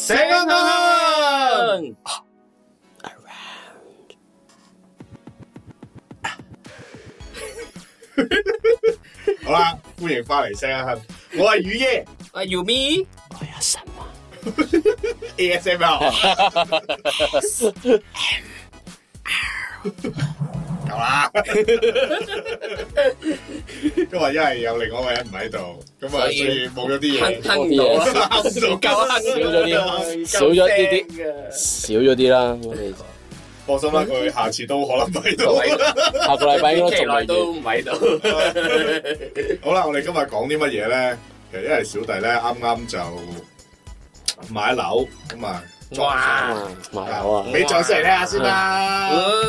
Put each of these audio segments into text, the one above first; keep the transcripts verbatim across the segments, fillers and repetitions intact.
醒啊香！好啦，歡迎翻嚟醒啊香，我係雨爺， 我係 Yumi， 我係阿神啊 A S M R 夠啦，因為因為有另外一個人唔喺度，咁啊所以冇咗啲嘢， 哼唔到啊，唔夠哼， 少咗啲，少咗啲啲，少咗啲啦。我哋放心啦，佢下次都可能唔喺度， 下個禮拜應該期內都唔喺度。 好啦，我哋今日講啲乜嘢咧？其實因為小弟咧啱啱就買樓咁啊， 哇， 買樓啊！ 俾掌聲嚟聽下先啦。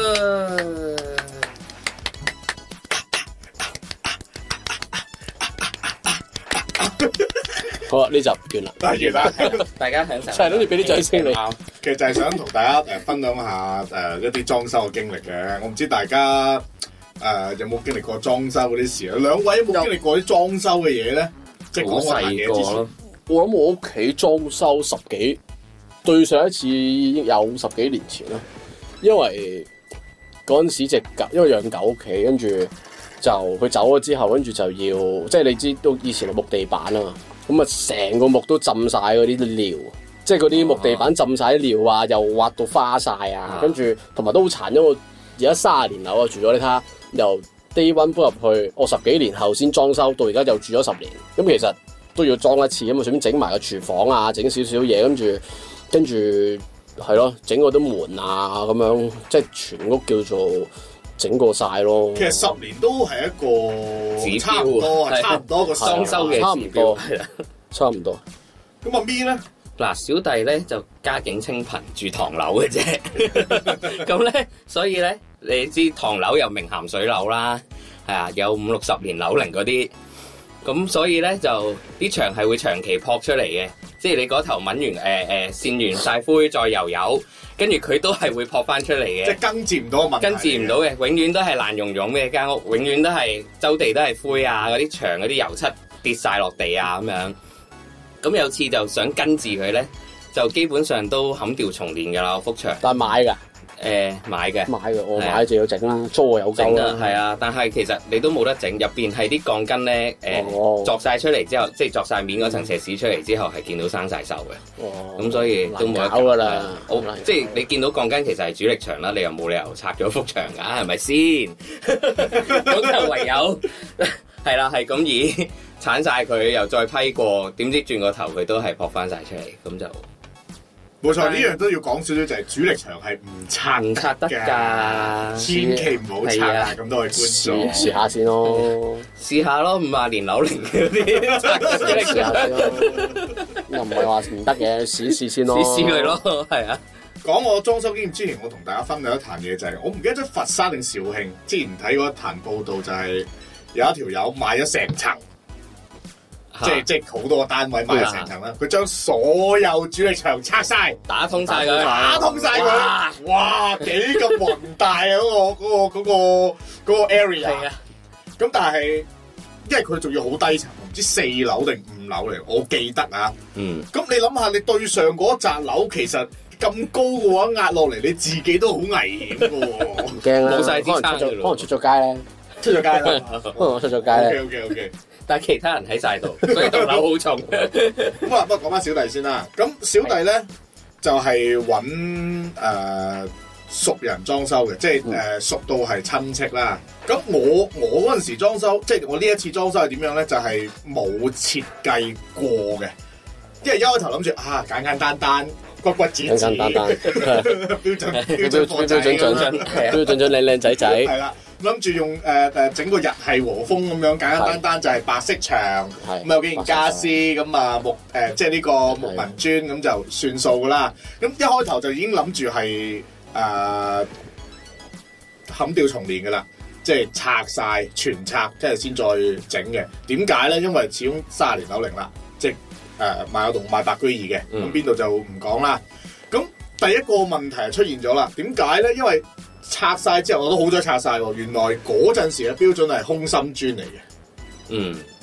好啦，呢集完啦， 完啦， 大家享受。 就係諗住俾啲掌聲你。 其實就係想同大家誒分享下誒一啲裝修嘅經歷嘅。我唔知大家誒有冇經歷過裝修嗰啲事啊？兩位有冇經歷過啲裝修嘅嘢咧？即係講細嘢之前， 我諗我屋企裝修十幾，對上一次有十幾年前啦。因為嗰陣時隻狗，因為養狗屋企，跟住就佢走咗之後，跟住就要，即係你知都以前係木地板啊嘛，咁啊成個木都浸晒嗰啲料，即係嗰啲木地板浸晒啲料啊，又挖到花晒啊，跟住同埋都好殘，因為而家卅年樓啊住咗，你睇下由 day one 搬入去，我十幾年後先裝修，到而家又住咗十年，咁其實都要裝一次，咁啊順便整埋個廚房啊，整少少嘢，跟住跟住係咯，整嗰啲門啊咁樣，即係全屋叫做整過晒咯。 其實十年都係一個指差唔多，係差唔多個裝修嘅差唔多，係啦，差唔多。 咁阿咪咧？ 嗱，小弟咧就家境清貧，住唐樓嘅啫。咁咧，所以咧，你知唐樓有名鹹水樓啦，係啊，有五六十年樓齡嗰啲。咁所以咧，就啲牆係會長期撲出嚟嘅，即係你嗰頭抿完誒誒線完晒灰再油油，跟住佢都係會撲翻出嚟嘅。 即係根治唔到個問題。根治唔到嘅，永遠都係爛溶溶嘅間屋，永遠都係周地都係灰啊，嗰啲牆嗰啲油漆跌晒落地啊咁樣。咁有次就想根治佢咧，就基本上都砍掉重練噶啦，幅牆。 但係買㗎？ 誒、呃，買嘅。買嘅，我買就要整啦，租我有整啦。 係啊，但係其實你都冇得整，入邊係啲鋼筋咧，誒、呃，鑿晒出嚟之後，即係鑿晒面嗰層石屎出嚟之後，係見到生晒鏽嘅。哦。咁所以都冇得搞㗎啦。好，即係你見到鋼筋其實係主力牆啦，你又冇理由拆咗幅牆㗎，係咪先？咁就唯有係啦，係咁以鏟晒佢，又再批過，點知轉個頭佢都係撲翻晒出嚟，咁就。 冇錯，呢樣都要講少少，就係主力牆係唔拆唔拆得㗎， 千祈唔好拆啊！咁多位觀眾試下先咯， 試下咯，五廿年樓齡嗰啲拆得主力牆先咯， 又唔係話唔得嘅，試試先咯， 試試佢咯，係啊。 講我裝修經驗之前，我同大家分享一壇嘢就係、是，我唔記得咗佛山定肇慶，之前睇過一壇報道，就係有一條友買咗成層。即係即係好多個單位買成層啦，佢將所有主力牆拆晒， 打通晒佢， 打通晒佢，哇！哇幾咁宏大啊！嗰、嗰個嗰、嗰個嗰、嗰個嗰個 area。係啊。咁但係，因為佢仲要好低層，唔知四樓定五樓嚟，我記得啊。嗯。咁你諗下，你對上嗰紮樓其實咁高嘅話，壓落嚟你自己都好危險嘅喎。 唔驚啦， 冇晒支撐可能出咗街咧， 出咗街啦， 可能我出咗街咧。 OK OK OK。 但係其他人喺晒度，所以棟樓好重。 咁啊，不過講翻小弟先啦。咁小弟咧就係揾誒熟人裝修嘅，即係誒、呃、熟到係親戚啦。咁我我嗰陣時裝修，即係我呢一次裝修係點樣咧？就係、是、冇設計過嘅，因為一開頭諗住啊簡簡單單。骨骨子子，簡簡單單，標準標準貨仔咁樣， 標準準靚靚仔仔。係啦，諗住用誒誒整個日系和風咁樣，簡簡單單就係白色牆，咁有幾件家私，咁啊木誒即係呢個木紋磚咁就算數噶啦。咁一開頭就已經諗住係誒砍掉重練噶啦，即係拆晒全拆，即係先再整嘅。點解咧？因為始終卅年樓齡啦，即係。誒、呃、賣有棟賣白居二嘅，咁邊度就唔講啦。咁第一個問題係出現咗啦，點解咧？因為拆晒之後，我都好彩拆晒喎。原來嗰陣時嘅標準係空心磚嚟嘅，嗯，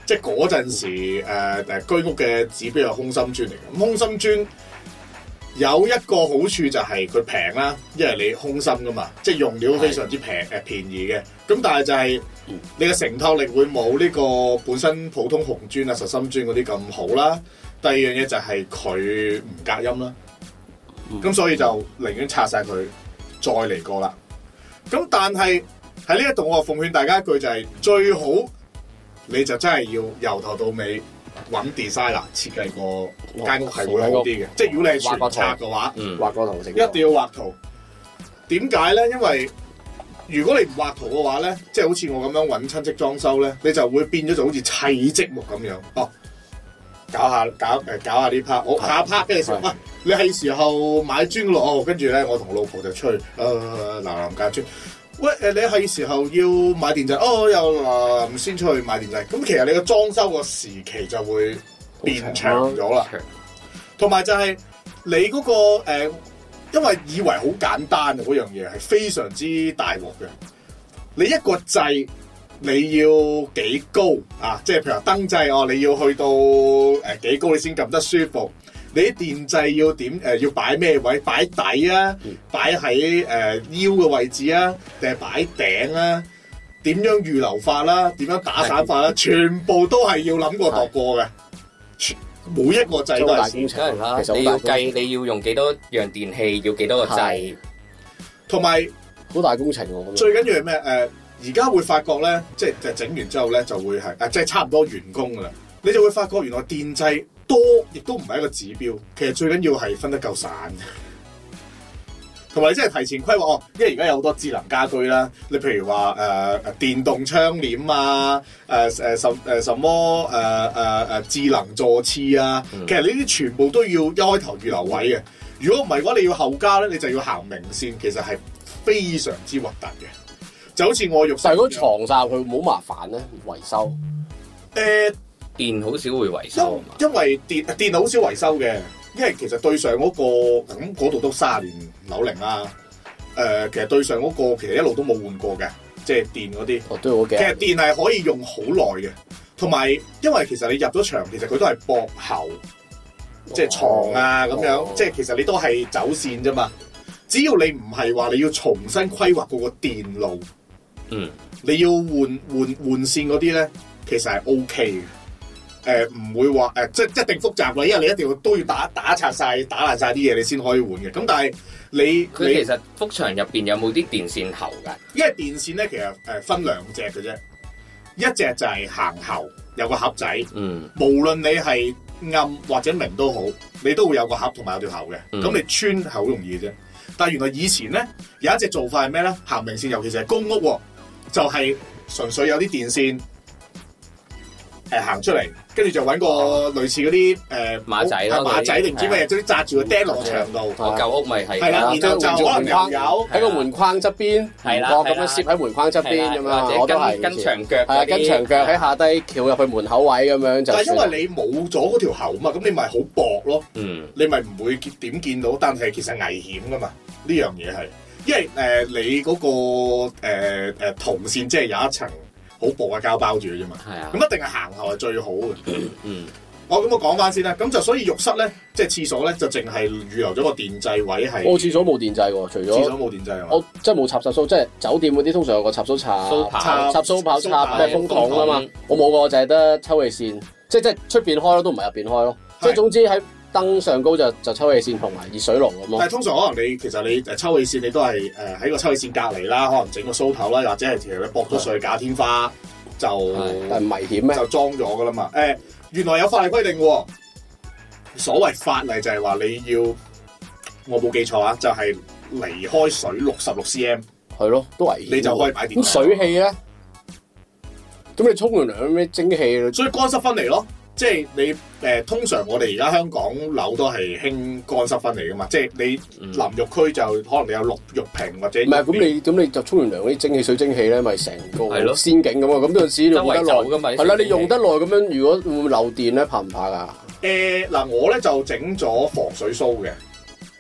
即係嗰陣時誒誒、呃、居屋嘅指標係空心磚嚟嘅。咁空心磚有一個好處就係佢平啦，因為你空心噶嘛，即係用料非常之平誒的便宜嘅。咁但係就係你嘅承托力會冇呢個本身普通紅磚啊、實心磚嗰啲咁好啦。第二樣嘢就係佢唔隔音啦。咁、嗯、所以就寧願拆晒佢，再嚟過啦。咁但係喺呢一度，我奉勸大家一句就係、是、最好，你就真係要由頭到尾揾 designer 設計個間屋係會好啲嘅。即係如果你係全拆嘅話， 畫個圖，一定要畫圖。點解咧？因為如果你唔畫圖嘅話咧，即係好似我咁樣揾親戚裝修咧，你就會變咗就好似砌積木咁樣。哦，搞下搞誒搞下呢 part，我下一 part 跟住食。你係時候買磚落，跟住咧我同老婆就出去誒嗱嗱架磚。喂誒，你係時候要買電掣，哦又嗱唔先出去買電掣。咁其實你個裝修個時期就會變長咗啦。同埋就係你嗰、那個誒、呃，因為以為好簡單嘅嗰樣嘢係非常之大鑊嘅。你一個掣你要幾高啊？即係譬如話燈掣哦，你要去到誒幾高你先撳得舒服。你啲電掣要點誒、呃？要擺咩位？擺底啊？擺喺誒腰嘅位置啊？定係擺頂啊？點樣預留法啦、啊？點樣打散法啦、啊？全部都係要諗過度過嘅。每一個掣都係大工程啦。其實你要計你要用幾多樣電器，要幾多個掣， 同埋好大工程喎。 最緊要係咩？誒、呃，而家會發覺咧，即係就整完之後咧，就會係誒、呃，即係差唔多完工噶啦。你就會發覺原來電掣多亦都唔係一個指標，其實最緊要係分得夠散，同埋你真係提前規劃哦。因為而家有好多智能家居啦，你譬如話誒誒電動窗簾啊，誒誒什誒什麼誒誒誒智能座廁啊，嗯、其實呢啲全部都要一開頭預留位嘅。如果唔係嘅話，你要後加咧，你就要行明線，其實係非常之核突嘅。就好似我浴室， 但係如果床曬佢冇麻煩咧，維修誒。呃電好少會維修， 因為電電好少維修嘅，因為其實對上嗰、那個咁嗰度都卅年樓齡啦。誒、呃，其實對上嗰、那個其實一路都冇換過嘅，即係電嗰啲。 哦，都好嘅。 其實電係可以用好耐嘅，同埋因為其實你入咗場，其實佢都係駁喉，即係床啊咁、哦、樣，哦、即係其實你都係走線啫嘛。只要你唔係話你要重新規劃嗰個電路，嗯，你要換換換線嗰啲咧，其實係 O K 嘅。誒，唔、呃、會話誒、呃，即係一定複雜嘅，因為你一定要都要打打拆晒、打爛晒啲嘢，你先可以換嘅。咁但係你佢其實幅牆入邊有冇啲電線喉噶？ 因為電線咧，其實誒分兩隻嘅啫，一隻就係行喉，有個盒仔。嗯，無論你係暗或者明都好，你都會有個盒同埋有條喉嘅。咁、嗯、你穿係好容易嘅啫。但係原來以前咧有一隻做法係咩咧？行明線，尤其是係公屋，就係、是、純粹有啲電線。誒行出嚟，跟住就揾個類似嗰啲誒馬仔咯， 馬仔定唔知咩嘢，總之紮住個釘落牆度。 我舊屋咪係。 係啦，然後就可能又有喺個門框側邊， 係啦， 咁樣攝喺門框側邊咁樣，我都係跟牆腳。 係啊，跟牆腳喺下低翹入去門口位咁樣就。 但係因為你冇咗嗰條喉嘛，咁你咪好薄咯。嗯。你咪唔會點見到，但係其實危險噶嘛。呢樣嘢係，因為誒你嗰個誒誒銅線即係有一層。好薄嘅膠包住嘅啫嘛，係啊，咁一定係行後係最好嘅。嗯，我咁我講翻先啦，咁就所以浴室咧，即係廁所咧，就淨係預留咗個電掣位係。我廁所冇電掣喎，除咗廁所冇電掣啊。 我即係冇插插蘇，即係酒店嗰啲通常有個插蘇插插插蘇跑插咩風筒啊嘛，我冇個，就係得抽氣扇，即係即係出邊開咯，都唔係入邊開咯，即係總之喺。燈上高就就抽氣扇同埋熱水爐咁咯。 但係通常可能你其實你誒抽氣扇你都係誒喺個抽氣扇隔離啦，可能整個蘇頭啦，或者係其實你駁咗上去假天花就， 但係危險咩？ 就裝咗噶啦嘛。誒、呃、原來有法例規定喎，所謂法例就係話你要，我冇記錯啊，就係、是、離開水六十六 cm， 係咯，都危險。 你就可以擺電。 咁水氣咧？咁你沖完涼咩蒸氣？ 所以乾濕分離咯。即係你誒、呃，通常我哋而家香港樓都係興乾濕分離噶嘛，即係你淋浴區就可能你有綠浴屏或者唔係咁你咁你就沖完涼嗰啲蒸汽水蒸氣咧，咪成個仙境咁啊！咁嗰陣時用得耐噶嘛，係啦，你用得耐咁樣，如果會漏電咧，怕唔怕噶？誒嗱、呃，我咧就整咗防水鬚嘅，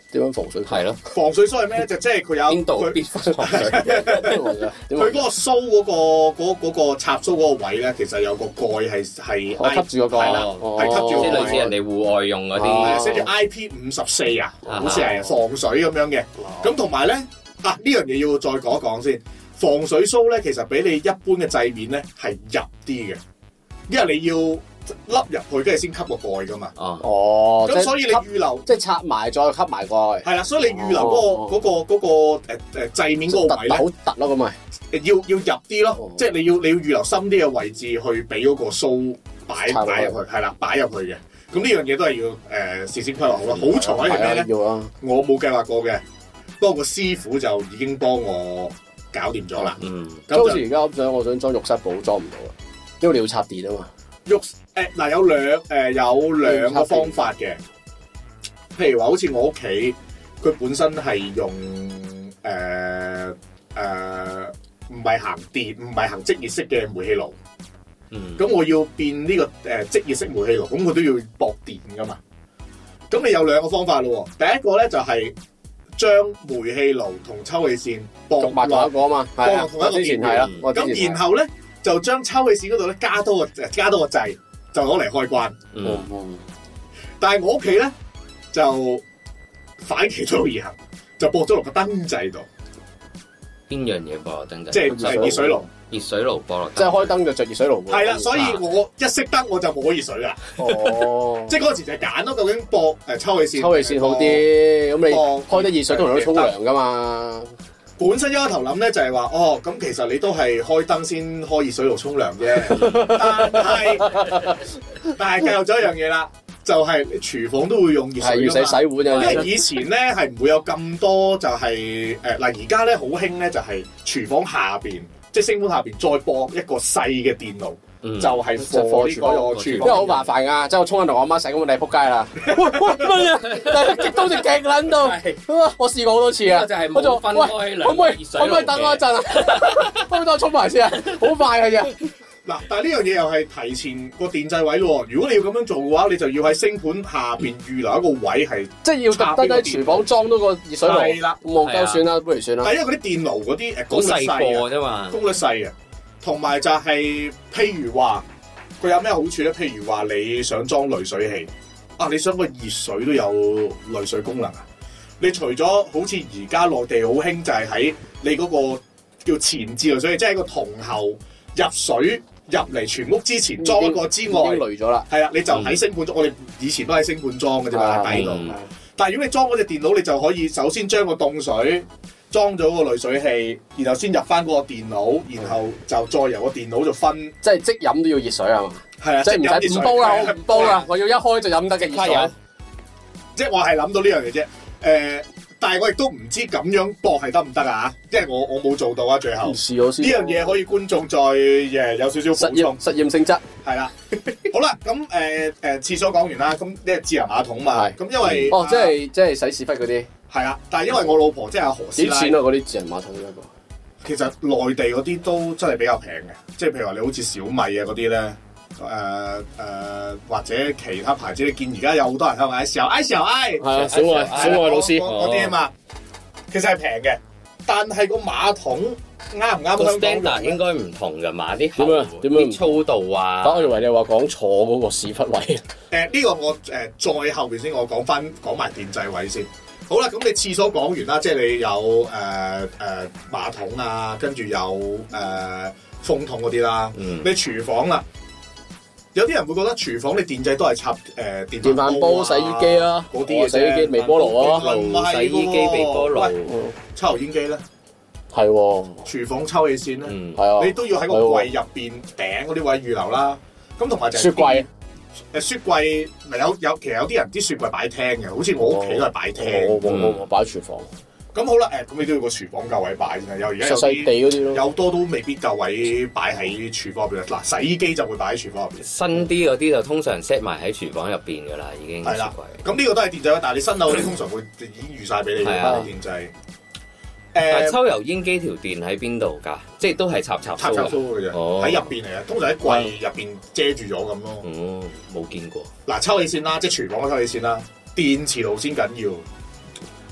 點樣防水？ 係咯， 防水梳係咩？就即係佢有邊度必防水？ 佢嗰個梳嗰個嗰嗰個插蘇嗰個位咧，其實有個蓋係係我吸住嗰個， 係啦，係吸住， 即係類似人哋戶外用嗰啲， 寫住 I P 五十四啊，好似係防水咁樣嘅。咁同埋咧啊，呢樣嘢要再講一講先。防水梳咧，其實比你一般嘅製面咧係入啲嘅，因為你要凹入去，跟住先吸個蓋噶嘛。 哦， 咁所以你預留， 即係插埋再吸埋蓋。係啦，所以你預留嗰個嗰個嗰個誒誒製面嗰個位咧， 好突咯咁咪， 要要入啲咯，即係你要你要預留深啲嘅位置去俾嗰個梳擺擺入去，係啦，擺入去嘅。咁呢樣嘢都係要誒事先規劃好啦。好彩係咩咧？要啊！我冇計劃過嘅，不過個師傅就已經幫我搞掂咗啦。嗯， 咁好似而家我想我想裝浴室寶裝唔到啦，因為你要插電啊嘛。 浴誒嗱有兩誒、呃、有兩個方法嘅，譬如話好似我屋企佢本身係用誒誒唔係行電唔係行即熱式嘅煤氣爐，嗯，咁我要變呢、這個誒、呃、即熱式煤氣爐，咁佢都要駁電噶嘛。咁你有兩個方法咯，第一個咧就係、是。將煤氣爐同抽氣扇駁埋同一個啊嘛，駁落同一個電源係啦。咁然後咧就將抽氣扇嗰度咧加多個加多個掣，就攞嚟開關。嗯嗯。但係我屋企咧就反其道而行，就駁咗落個燈掣度。 邊樣嘢駁落燈掣？ 即係係熱水爐。 熱水爐駁落， 即係開燈就着熱水爐。 係啦，所以我一熄燈我就冇熱水啦。哦，即係嗰陣時就揀咯，究竟駁誒抽氣扇， 抽氣扇好啲。咁你開得熱水通常都沖涼噶嘛。 本身一開頭諗咧就係話，哦，咁其實你都係開燈先開熱水爐沖涼啫。但係但係計漏咗一樣嘢啦，就係廚房都會用熱水， 要洗洗碗啊。 因為以前咧係唔會有咁多就係誒嗱，而家咧好興咧就係廚房下邊。即係升盤下邊再駁一個細嘅電爐，嗯、就係放呢個廚房， 因為好麻煩噶，即係我沖緊涼，我阿媽洗咁，你係仆街啦。喂喂乜嘢？但係激到隻極撚到，我試過好多次啊。就係冇分開兩個熱水爐嘅。可唔可以等我一陣啊？可唔可以等我沖埋先啊？好快嘅啫。 嗱，但係呢樣嘢又係提前個電掣位咯。如果你要咁樣做嘅話，你就要喺升盤下邊預留一個位係， 即係要特登喺廚房裝多個熱水爐。係啦，冇夠算啦，不如算啦。 但係因為嗰啲電爐嗰啲誒功率細啫嘛，功率細啊，同埋就係譬如話佢有咩好處咧？譬如話你想裝濾水器啊，你想個熱水都有濾水功能啊？你除咗好似而家內地好興就係喺你嗰個叫前置濾水器，即係喺個銅喉入水。入嚟全屋之前裝一個之外， 已經濾咗啦。 係啊，你就喺升盤裝。嗯、我哋以前都喺升盤裝嘅啫嘛，喺底度。嗯、但係如果你裝嗰隻電腦，你就可以首先將個凍水裝咗個濾水器，然後先入翻嗰個電腦，然後就再由個電腦就分。即係即飲都要熱水係嘛？ 係啊，即係唔使唔煲啦，我唔煲啦，我要一開就飲得嘅熱水。 即係我係諗到呢樣嘢啫，誒、呃。但係我亦都唔知咁樣駁係得唔得啊？因為我我冇做到啊，最後試咗先。呢樣嘢可以觀眾再誒有少少實驗實驗性質係啦。好啦，咁誒誒廁所講完啦，咁呢個智能馬桶嘛，咁因為哦，即係即係洗屎忽嗰啲係啦。但係因為我老婆即係阿何師奶， 幾錢啊？嗰啲智能馬桶一個其實內地嗰啲都真係比較平嘅，即係譬如話你好似小米啊嗰啲咧。誒誒、呃呃、或者其他牌子，你見而家有好多人喺度嗌小愛小愛， 係啊，小愛小愛老師嗰啲啊嘛，其實係平嘅，但係個馬桶啱唔啱香港 standard 應該唔同㗎嘛，啲點啊點樣粗度啊？ 我以為你話講坐嗰個屎忽位。誒呢、 呃呢個我誒、呃、再後邊先，我講翻講埋電掣位先。好啦，咁你廁所講完啦，即係你有誒誒、呃呃、馬桶啊，跟住有誒、呃、風筒嗰啲啦，嗯、你廚房啦。有啲人會覺得廚房你電掣都係插誒、呃、電飯煲、啊、煲、洗衣機啊，嗰啲洗衣機、微波爐啊， 洗衣機、微波爐、 抽油煙機咧， 係喎， 廚房抽氣扇咧，係啊、嗯， 你都要喺個櫃入邊頂嗰啲位預留啦。咁同埋就係雪櫃， 誒雪櫃咪有有，其實有啲人啲雪櫃擺廳嘅，好似我屋企都係擺廳， 我我我我擺喺廚房。 咁好啦，誒，咁你都要個廚房夠位擺先啊！有而家有細地嗰啲咯， 有多都未必夠位擺喺廚房入邊。嗱，洗衣機就會擺喺廚房入邊。 新啲嗰啲就通常 set 埋喺廚房入邊噶啦，已經。係啦。 咁呢個都係電掣，但係你新樓嗰啲通常會已經預晒俾你嘅電掣。 誒，抽油煙機條電喺邊度㗎？即係都係插插插插蘇嘅啫，喺入邊嚟嘅，通常喺櫃入邊遮住咗咁咯。 嗯，冇見過。 嗱，抽氣扇啦，即係廚房嘅抽氣扇啦，電磁爐先緊要。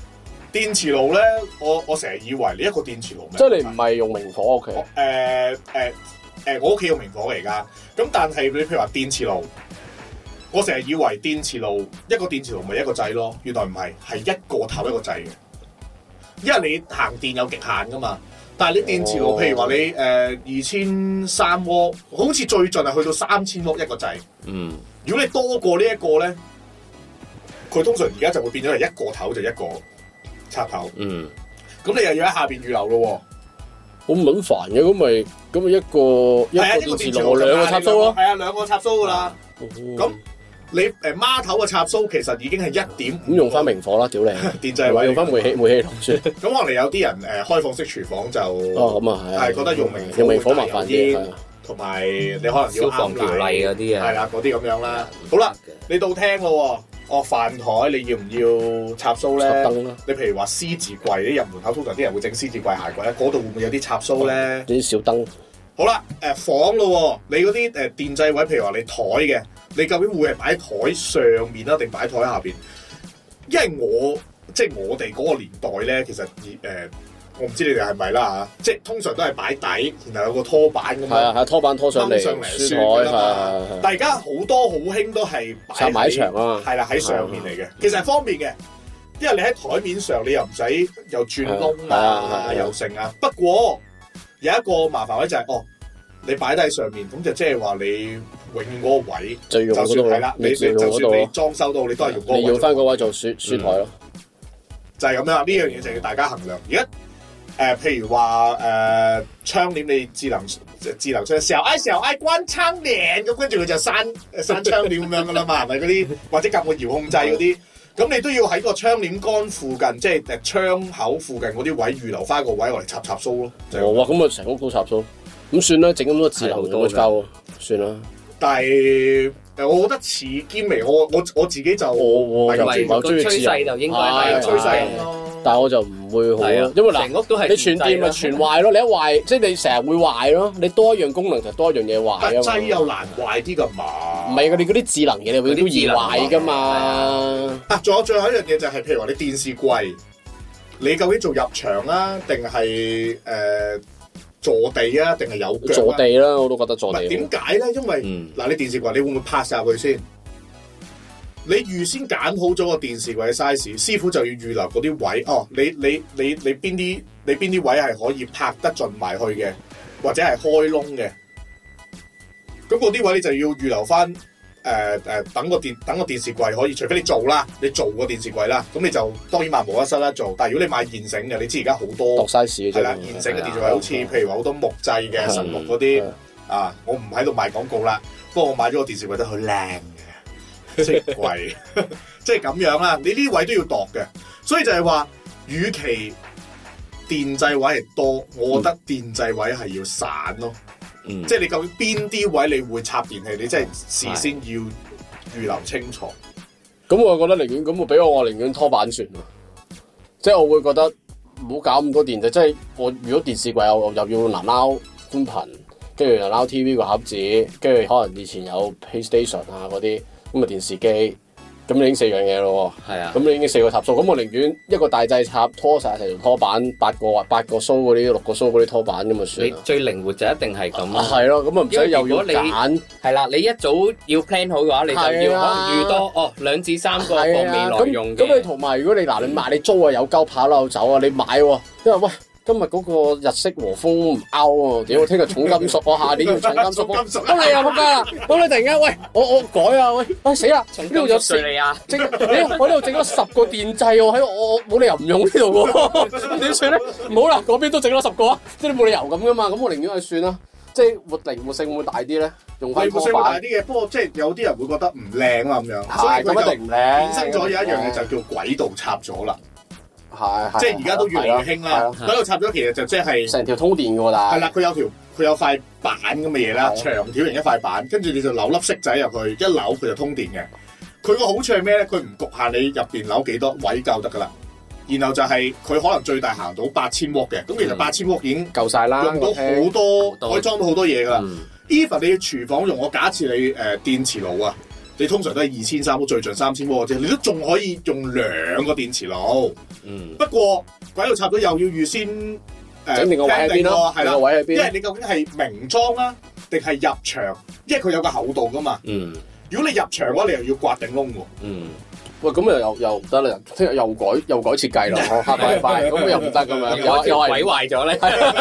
電磁爐咧，我我成日以為你一個電磁爐咩？ 即係你唔係用明火屋企？ 誒誒誒，我屋企用明火嚟㗎。咁但係你譬如話電磁爐，我成日以為電磁爐一個電磁爐咪一個掣咯，原來唔係，係一個頭一個掣嘅。因為你行電有極限㗎嘛。但係你電磁爐，哦、譬如話你誒二千三瓦，好似最盡係去到三千瓦一個掣。嗯。如果你多過呢一個咧，佢通常而家就會變咗係一個頭就一個插頭。嗯。咁你又要喺下邊預留咯喎。好撚煩嘅，咁咪咁咪一個一個電磁爐兩個插蘇咯。係啊，兩個插蘇噶啦。咁、哦、你誒孖頭嘅插蘇其實已經係一點五。咁用翻明火啦，屌你！電掣位用翻煤氣煤氣爐算。咁可能有啲人誒開放式廚房就哦咁啊係，係覺得用明用明火麻煩啲，同埋你可能要消防條例嗰啲啊，係啦嗰啲咁樣啦。好啦，你到廳咯。哦，飯台你要唔要插蘇咧？插燈啦。你譬如話獅字櫃，啲入門口通常啲人會整獅字櫃、鞋櫃咧，嗰度會唔會有啲插蘇咧？啲小燈。好啦，誒、呃、房咯，你嗰啲誒電掣位，譬如話你台嘅，你究竟會係擺喺台上面啦，定擺喺台下邊？因為我即係我哋嗰個年代咧，其實誒。呃我唔知你哋係咪啦嚇，即係通常都係擺底，然後有個拖板咁樣。係啊，係拖板拖上嚟，上嚟書台係。但係而家好多好興都係擺喺牆啊，係啦喺上面嚟嘅，其實係方便嘅，因為你喺台面上你又唔使又轉窿啊，又剩啊。不過有一個麻煩位就係、是、哦，你擺低喺上面，咁就即係話你永遠嗰個位就用嗰度係啦。你你就算你裝修到，你都係用嗰個位。你要翻嗰位做書書台咯，就係咁樣。呢樣嘢就要大家衡量。而家。誒、呃，譬如話誒、呃、窗簾，你智能智能窗，時候哎時候哎關窗簾，咁跟住佢就閂閂窗簾咁樣噶啦嘛，係咪嗰啲或者夾個遙控掣嗰啲，咁你都要喺個窗簾杆附近，即係誒窗口附近嗰啲位預留翻個位嚟插插蘇咯。哦，哇，咁啊成屋都插蘇，咁算啦，整咁多智能咁嘅膠，算啦。但係誒，我覺得似兼微，我我我自己就我我就唔係好中意智能，趨勢就應該係趨勢咯。但係我就唔會好咯，因為嗱，屋都係你全電咪全壞咯，你一壞即係你成日會壞咯，你多一樣功能就多一樣嘢壞啊嘛。掣又難壞啲噶嘛？唔係，佢哋嗰啲智能嘢你永遠都易壞噶嘛。啊，仲有最後一樣嘢就係、是，譬如話你電視櫃，你究竟做入牆啊，定係誒坐地啊，定係有腳、啊、坐地啦，我都覺得坐地。點解咧？因為嗱、嗯，你電視櫃你會唔會拍晒佢先？你預先揀好咗個電視櫃嘅 size，師傅就要預留嗰啲位。哦，你你你你邊啲你邊啲位係可以拍得進埋去嘅，或者係開窿嘅。咁嗰啲位你就要預留翻誒誒，等個電等個電視櫃可以，除非你做啦，你做個電視櫃啦，咁你就當然萬無一失啦做。但係如果你買現成嘅，你知而家好多 size 係啦，現成嘅電視櫃好似譬如話好多木製嘅神木嗰啲啊，我唔喺度賣廣告啦。不過我買咗個電視櫃都好靚。即係貴，即係咁樣啦。你呢啲位都要度嘅，所以就係話，與其電掣位係多，我覺得電掣位係要散咯。嗯，即係你究竟邊啲位你會插電器，你真係事先要預留清楚。咁、嗯、我覺得寧願咁，我俾我我寧願拖板算咯。即係我會覺得唔好搞咁多電掣。即係我如果電視櫃我又要藍撈寬頻，跟住又撈 T V 個盒子，跟住可能以前有 PlayStation 啊嗰啲。咁啊電視機，咁你已經四樣嘢咯喎。係啊。咁你已經四個插蘇，咁我寧願一個大掣插拖晒成條拖板，八個或八個蘇嗰啲，六個蘇嗰啲拖板咁啊算。你最靈活就一定係咁。係咯，咁啊唔使又要揀。係啦，你一早要 plan 好嘅話，你就要可能預多哦兩至三個放未來用嘅。咁你同埋如果你嗱你買你租啊有鳩跑漏走啊，你買喎，因為喂。今日嗰個日式和風唔 out 喎，屌！聽日重金屬，我下年要重金屬。咁你又仆街啦！咁你突然間，喂，我我改啊，喂，喂死啦！呢度有四，整，屌！我呢度整咗十個電掣喎，喺我我冇理由唔用呢度喎，咁點算咧？唔好啦，嗰邊都整咗十個啊，即係冇理由咁噶嘛，咁我寧願去算啦。即係活靈活性會唔會大啲咧？用翻拖板。靈活性會大啲嘅，不過即係有啲人會覺得唔靚啊咁樣。係，咁一定唔靚。衍生咗有一樣嘢就叫軌道插咗啦。係，即係而家都越嚟越興啦。喺度插咗，其實就即係成條通電嘅喎，但係係啦，佢有條佢有塊板咁嘅嘢啦，長條形一塊板，跟住你就扭粒色仔入去，一扭佢就通電嘅。佢個好處係咩咧？佢唔局限你入邊扭幾多位夠得噶啦。然後就係佢可能最大行到八千瓦嘅，咁其實八千瓦已經夠晒啦，用到好多，可以裝到好多嘢噶啦。even 你廚房用，我假設你誒電磁爐啊， 你通常都係二千三，最盡三千瓦啫，你都仲可以用兩個電磁爐。嗯。不過軌道插咗又要預先誒整定個位喺邊咯，係啦，位喺邊？ 因為你究竟係明裝啊，定係入牆？因為佢有個厚度噶嘛。嗯。如果你入牆嘅話，你又要刮頂窿喎。嗯。喂，咁又又又唔得啦！聽日又改又改設計咯，下個禮拜咁又唔得咁樣，又又係毀壞咗咧。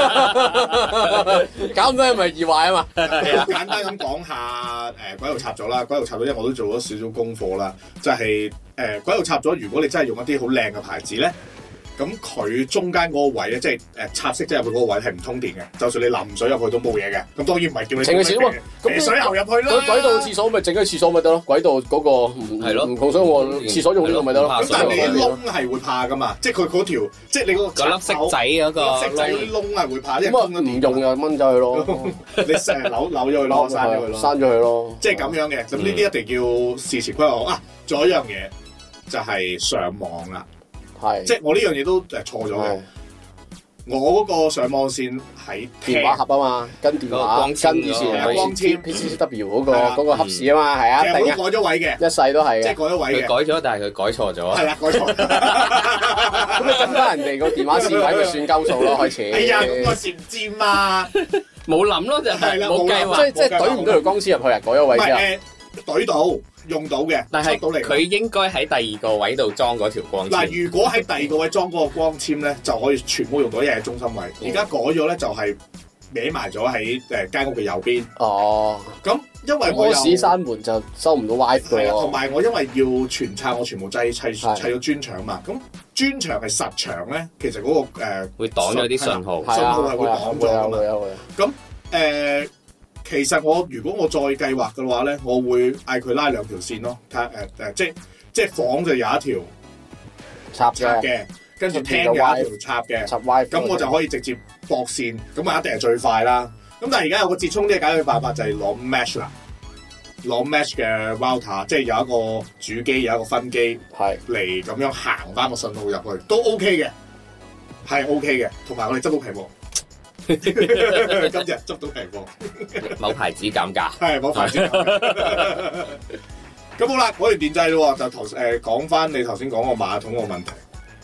搞咁多係咪易壞啊嘛？ 簡單咁講下誒軌道插咗啦，軌道插咗，因為我都做咗少少功課啦，就係誒軌道插咗。如果你真係用一啲好靚嘅牌子咧，咁佢中間嗰個位咧，即係誒插式即係入去嗰個位係唔通電嘅，就算你淋水入去都冇嘢嘅。咁當然唔係叫你整個少咁水喉入去啦。軌道廁所咪整個廁所咪得咯，軌道嗰個係咯，唔控水我廁所用呢個咪得咯。 咁但係你啲窿係會怕噶嘛？即係佢嗰條，即係你嗰個粒色仔嗰個色仔嗰啲窿係會怕。 咁啊唔用又掹走佢咯， 你成日扭扭咗佢咯，刪咗佢咯， 刪咗佢咯。 即係咁樣嘅。咁呢啲一定要事前規劃啊！仲有一樣嘢就係上網啦。係，即係我呢樣嘢都誒錯咗嘅。我嗰個上網線喺電話盒啊嘛，跟電話跟以前係光纖 P C W 嗰個嗰個盒匙啊嘛，係啊， 其實都改咗位嘅， 一世都係嘅， 即係改咗位嘅。 佢改咗，但係佢改錯咗。 係啦，改錯。 咁你跟翻人哋個電話線位咪算鳩數咯，開始。 哎呀，咁我線唔知嘛， 冇諗咯，就係冇計劃， 即係即係懟唔到條光纖入去啊，改咗位之後。 懟到。用到嘅， 但係佢應該喺第二個位度裝嗰條光纖。 嗱，如果喺第二個位裝嗰個光纖咧，就可以全部用到，一係中心位。而家、嗯、改咗咧，就係歪埋咗喺誒間屋嘅右邊。哦，咁因為我屎閂門就收唔到 WiFi 同埋我因為要全拆，我全部砌砌砌咗磚牆嘛。咁磚牆係實牆咧，其實嗰、那個誒、呃、 會擋咗啲信號， 信號係會擋咗㗎嘛。咁誒。呃其實我如果我再計劃嘅話咧，我會嗌佢拉兩條線咯，睇誒誒，即即房就有一條插嘅，跟住廳有一條插嘅，插 WiFi，咁我就可以直接駁線，咁啊一定係最快啦。咁但係而家有個折衷啲嘅解決辦法就係攞 mesh 啦，攞 mesh 嘅 router，即係有一個主機有一個分機，係嚟咁樣行翻個信號入去，都 OK 嘅，係 OK 嘅，同埋我哋執到屏幕。今日執到平貨， 某牌子減價， 係某牌子減價。咁好啦，講完電掣咯，就頭誒講翻你頭先講個馬桶個問題。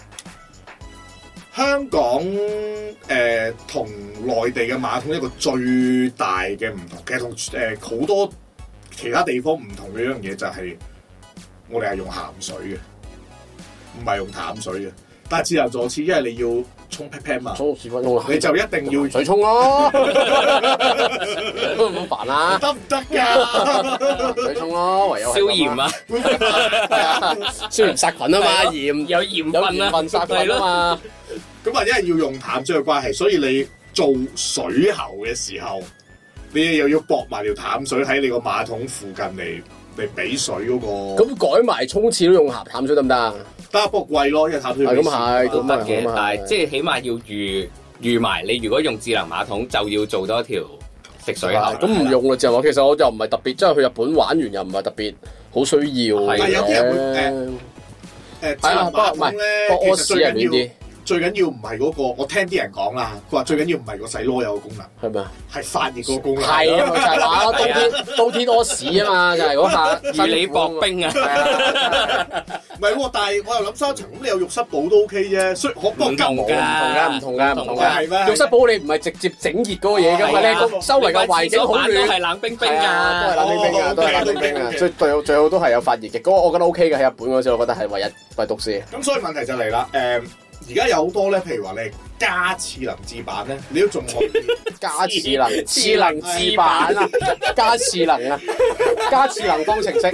香港誒同內地嘅馬桶一個最大嘅唔同，其實同誒好多其他地方唔同嘅一樣嘢就係，我哋係用鹹水嘅，唔係用淡水嘅。但係自由坐廁，因為你要沖 pat pat 嘛，沖屎忽窿，你就一定要水沖咯，都唔好煩啦， 得唔得㗎？ 水沖咯，唯有消炎啊， 消炎殺菌啊嘛，鹽有鹽分啊， 分殺菌啊嘛。 咁啊，因為要用淡水嘅關係，所以你做水喉嘅時候，你又要駁埋條淡水喺你個馬桶附近嚟嚟俾水嗰個。 咁改埋沖廁都用鹹淡水得唔得啊？ 得，不過貴咯，因為淡水咁係都得嘅，但係即係起碼要預預埋。你如果用智能馬桶，就要做多條食水喉。 咁唔用啦，就話其實我就唔係特別，即係去日本玩完又唔係特別好需要嘅。 但係有啲人會誒誒智能馬桶咧，其實最緊要。最緊要唔係嗰個，我聽啲人講啦，佢話最緊要唔係個洗攞有個功能， 係咪啊？ 係發熱嗰個功能。 係啊，就係話冬天冬天屙屎啊嘛，就係嗰下。 與你薄冰啊！ 唔係喎，但係我又諗三層，咁你有浴室寶都 OK 啫，雖可不過夠唔同㗎，唔同㗎，唔同㗎。 係咩？ 浴室寶你唔係直接整熱嗰個嘢㗎嘛？你個周圍嘅環境好暖， 都係冷冰冰㗎， 都係冷冰冰㗎，都係冷冰冰㗎。最最好最好都係有發熱嘅，嗰個我覺得 OK 嘅。喺日本嗰時，我覺得係唯一唯獨是。 咁所以問題就嚟啦，誒。而家有好多咧，譬如話你係加智能字版咧，你都仲可以加智能智能字版啊，加智能啊，加智能方程式。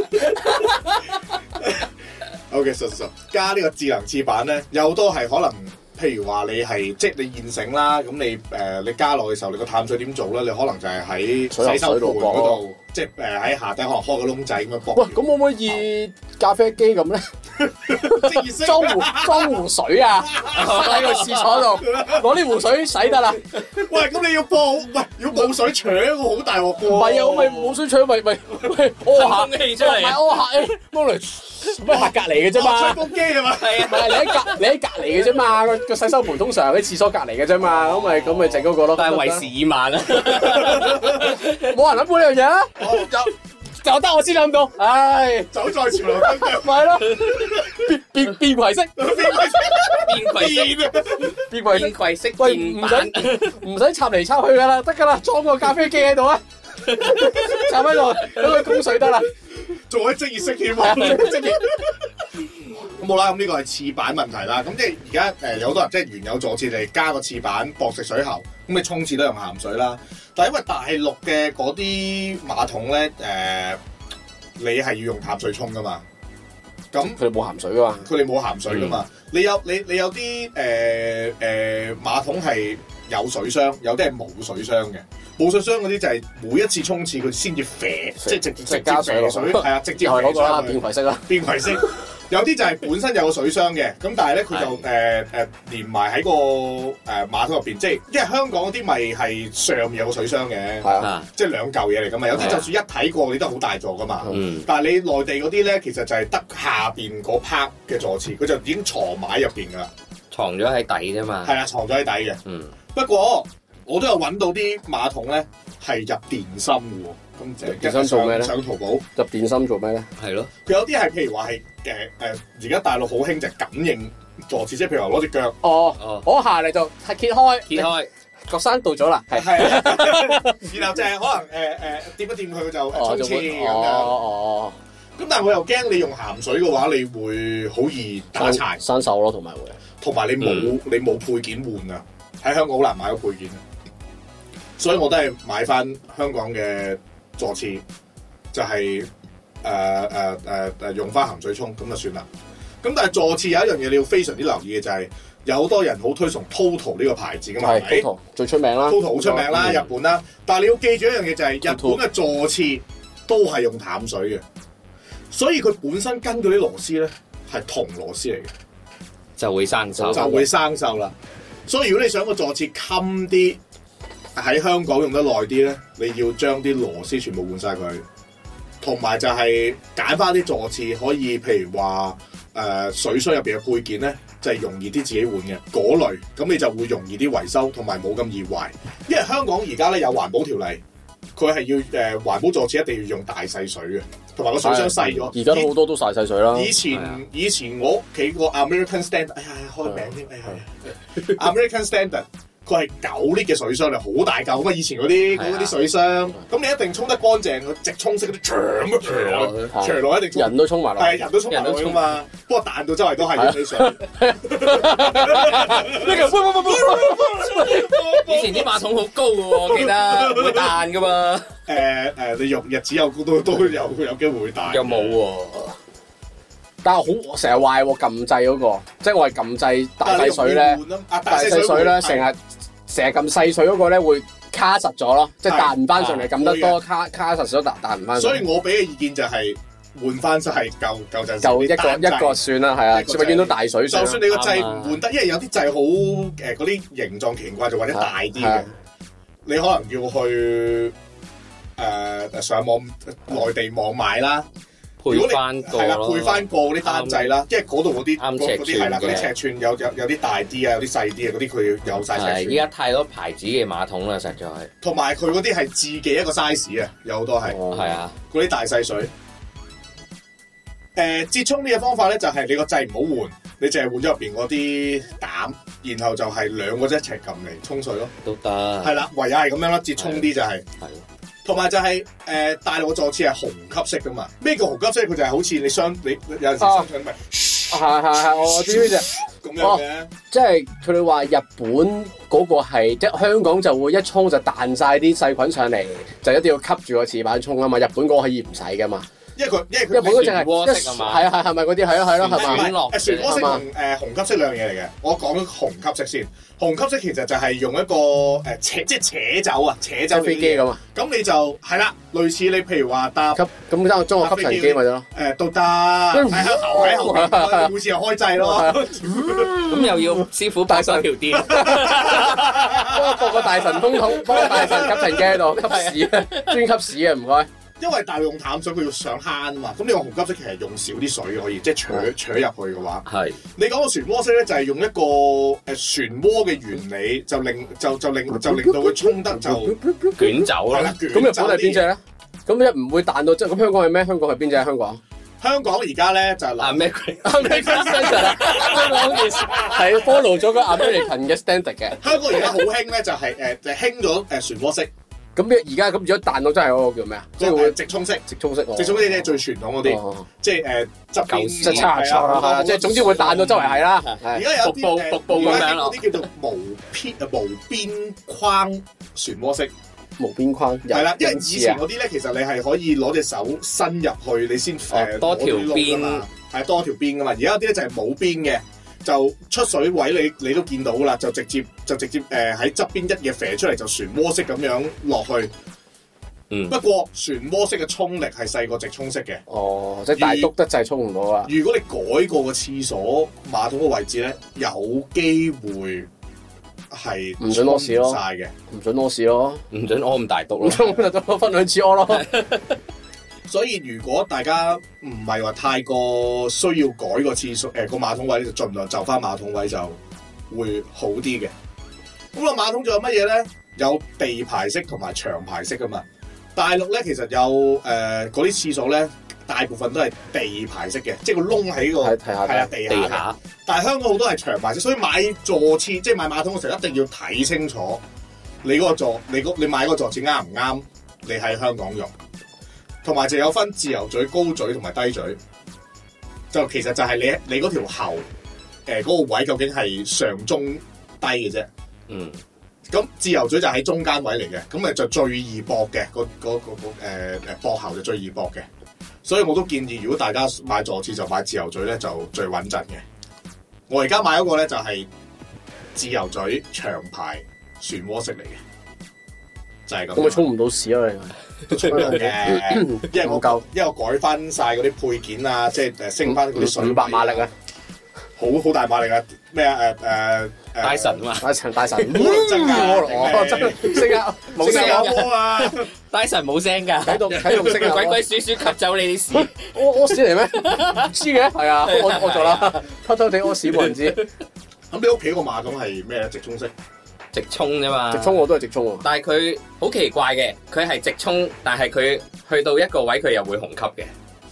OK，實實加呢個智能字版咧，有好多係可能，譬如話你係即係你現成啦，咁你誒、呃、你加落嘅時候，你個淡水點做咧？你可能就係喺洗手盆嗰度，即係誒喺下底可能開個窿仔咁樣駁。喂， 咁可唔可以咖啡機咁咧？裝壺裝壺水啊！喺個廁所度攞啲壺水洗得啦。 喂，咁你要播喂，如果冇水搶，我好大鑊喎。 唔係啊，我咪冇水搶，咪咪咪屙下空氣出嚟， 咪屙下誒，幫嚟咩客隔離嘅啫嘛。 吹風機係嘛？係啊， 唔係你喺隔你喺隔離嘅啫嘛。個個洗手盆通常喺廁所隔離嘅啫嘛。咁咪咁咪整嗰個咯。 但係為時已晚啊！ 冇人諗過呢樣嘢啊！ 就得我先諗到，唉， 走在潮流跟腳， 咪咯，變變變攜式， 變攜式， 變攜變攜式， 喂，唔使唔使插嚟插去噶啦，得噶啦，裝個咖啡機喺度啊，插喺度，等佢供水得啦， 做喺職業式添啊，職業。咁好啦，咁呢個係廁板問題啦。咁即係而家誒有好多人即係原有坐廁嚟加個廁板駁食水喉，咁你沖廁都用鹹水啦。但係因為大陸嘅嗰啲馬桶咧，誒、呃、你係要用淡水沖噶嘛。咁佢哋冇鹹水噶嘛？ 佢哋冇鹹水噶嘛？嗯、你有你你有啲誒誒馬桶係有水箱，有啲係冇水箱嘅。冇水箱嗰啲就係每一次沖廁佢先至啡，即係直直接加水，係啊，直接係嗰個啦，變攜式啦， 變攜式。有啲就係本身有個水箱嘅，咁但係咧佢就誒誒、呃呃、連埋喺個誒、呃、馬桶入邊，即係因為香港嗰啲咪係上面有個水箱嘅， 啊、 即係兩嚿嘢嚟噶嘛。有啲就算一睇過，你都好大座噶嘛。嗯、但係你內地嗰啲咧，其實就係得下邊嗰 part 嘅座廁，佢就已經藏埋入邊噶啦， 藏咗喺底啫嘛。 係啊，藏咗喺底嘅。 嗯， 不過我都有揾到啲馬桶咧係入電芯嘅喎。 入電芯做咩咧？ 上淘寶入電芯做咩咧？ 係咯， 佢有啲係譬如話係誒誒，而、呃、家大陸好興就係感應坐廁，即係譬如話攞隻腳， 哦哦，我下嚟就係揭開， 揭開個山到咗啦，係係，然後就係可能誒誒掂一掂佢就沖廁咁樣， 哦哦， 咁但係我又驚你用鹹水嘅話，你會好易打柴、 生鏽咯，同埋會， 同埋你冇、嗯、你冇配件換啊，喺香港好難買到配件，所以我都係買翻香港嘅坐廁，就係誒誒誒誒用翻鹹水沖咁就算啦。咁但係坐廁有一樣嘢你要非常之留意嘅就係、是，有好多人好推崇 Toto 呢個牌子噶嘛，係咪 Toto 最出名啦 ，Toto 好出名啦，嗯、日本啦。但係你要記住一樣嘢就係、是，日本嘅坐廁都係用淡水嘅，所以佢本身跟嗰啲螺絲咧係銅螺絲嚟嘅， 就會生鏽， 就會生鏽啦。所以如果你想個坐廁襟啲，喺香港用得耐啲咧，你要將啲螺絲全部換晒佢，同埋就係揀翻啲坐廁可以，譬如話誒、呃、水箱入邊嘅配件咧，就係、是、容易啲自己換嘅嗰類，咁你就會容易啲維修，同埋冇咁易壞。因為香港而家咧有環保條例，佢係要誒、呃、環保坐廁一定要用大細水嘅，同埋個水箱細咗。 而家都好多都大細水啦。 以前的以前我屋企個 American Standard，哎呀開名添，哎呀 American Standard。佢係九 lit 嘅水箱嚟，好大嚿咁啊！以前嗰啲嗰啲水箱，咁你一定沖得乾淨，佢直沖式嗰啲長咁長落，長落一定人都沖埋落， 係人都沖埋落去噶嘛。不過彈到周圍都係嘅水箱。 以前啲馬桶好高嘅喎，我記得會彈噶嘛。 誒誒，你用日子有都都有有機會會彈。 又冇喎， 但係好成日壞喎，撳掣嗰個，即係我係撳掣大細水咧，大細水咧成日。成日咁細水嗰個咧會卡實咗咯，即係彈唔翻上嚟，撳得多卡卡實咗彈彈唔翻。 所以我俾嘅意見就係換翻晒舊舊陣時就一個一個算啦，係啊，永遠都大水上。 就算你個掣唔換得，因為有啲掣好誒嗰啲形狀奇怪，就或者大啲嘅，你可能要去誒上網內地網買啦。 配翻個係啦，配翻個嗰啲單掣啦，因為嗰度嗰啲啱嗰啲係啦，嗰啲尺寸有有有啲大啲啊，有啲細啲啊，嗰啲佢有晒尺寸。 係，依家太多牌子嘅馬桶啦，實在係。 同埋佢嗰啲係自己一個 size 啊，有好多係。 係啊， 嗰啲大細水。誒，折衷呢個方法咧，就係你個掣唔好換，你淨係換咗入邊嗰啲膽，然後就係兩個一齊撳嚟沖水咯。 都得。係啦，唯有係咁樣啦，折衷啲就係。係。同埋就係、是、誒、呃、大陸嘅坐廁係虹吸式噶嘛？咩叫虹吸式？佢就係好似你雙你有陣時雙腿咪， 係係係，我知呢隻咁樣嘅。 即係佢哋話日本嗰個係即係香港就會一沖就彈晒啲細菌上嚟，就一定要吸住個廁板沖啊嘛。日本嗰個可以唔使噶嘛。因為佢，因為佢，日本嗰隻係渦式啊嘛， 係啊係係咪嗰啲係啊係咯係嘛？ 漩渦式同誒虹吸式兩樣嘢嚟嘅。我講咗虹吸式先，虹吸式其實就係用一個誒扯即係扯走啊，扯走飛機咁啊。 咁你就係啦，類似你譬如話搭吸咁將裝個吸塵機咪得咯。 誒都得，喺後喺後邊，每次又開掣咯。 咁又要師傅擺上條電， 幫個個大神通通，幫個大神吸塵機喺度吸屎啊，專吸屎啊，唔該。 因為大陸用淡水，佢要上慳啊嘛。咁你用虹吸式其實用少啲水可以，即係扯扯入去嘅話。係。你講個漩渦式咧，就係用一個誒漩渦嘅原理，就令就就令就令到佢沖得就捲走啦。 咁日本係邊隻咧？咁咁一唔會彈到即係咁香港係咩？香港係邊隻？香港？ 香港而家咧就係 American standard 啦，香港件事係 follow 咗個 American 嘅 standard 嘅。 香港而家好興咧就係誒就興咗誒漩渦式。咁而家咁如果彈到真係嗰個叫咩啊？ 即係會直衝式， 直衝式， 直衝式係最傳統嗰啲，即係誒側邊即係差差，即係總之會彈到周圍係啦。 而家有啲瀑布咁樣嗰啲叫做無邊啊無邊框漩渦式。 無邊框係啦，因為以前嗰啲咧，其實你係可以攞隻手伸入去，你先誒多條邊， 係多條邊噶嘛。而家有啲咧就係冇邊嘅，就出水位你你都見到啦，就直接就直接誒喺側邊一嘢射出嚟，就漩渦式咁樣落去。嗯。不過漩渦式嘅衝力係細過直衝式嘅。哦， 即係大篤得滯衝唔到啊！ 如果你改過個廁所馬桶嘅位置咧，有機會。係唔准屙屎咯， 晒嘅， 唔准屙屎咯， 唔准屙咁大篤咯， 咁就分兩次屙咯。 所以如果大家唔係話太過需要改個廁所誒個馬桶位，就盡量就翻馬桶位就會好啲嘅。咁個馬桶仲有乜嘢咧？有地排式同埋長排式噶嘛。大陸咧其實有誒嗰啲廁所咧。大部分都係地排式嘅，即係個窿喺個係啊地下。地下但係香港好多係長排式，所以買座廁即係買馬桶嘅時候一定要睇清楚你嗰個座，你你買嗰個座廁啱唔啱？你喺香港用，同埋就有分自由嘴、高嘴同埋低嘴。就其實就係你你嗰條喉誒嗰個位究竟係上中低嘅啫。嗯。咁自由嘴就喺中間位嚟嘅，咁咪就最易駁嘅，嗰嗰嗰個誒誒駁喉就最易駁嘅。所以我都建議，如果大家買座廁就買自由嘴咧，就最穩陣嘅。我而家買嗰個咧就係自由嘴長排漩渦式嚟嘅，就係咁。 咁咪沖唔到屎啊？ 你都沖到嘅，因為我夠，因為我改翻晒嗰啲配件啊，即係誒升翻嗰啲水五百馬力啊， 好好大馬力啊！咩啊誒誒大神啊嘛， 大神大神， 真㗎， 真升啊， 冇聲啊！ 大神冇聲㗎， 喺度喺度升啊， 鬼鬼祟祟吸走你啲屎， 屙屙屎嚟咩？唔知嘅，係啊，我我做啦，偷偷地屙屎冇人知。 咁你屋企個馬桶係咩咧？直沖式？ 直沖啫嘛。 直沖我都係直沖喎。 但係佢好奇怪嘅，佢係直沖，但係佢去到一個位佢又會虹吸嘅。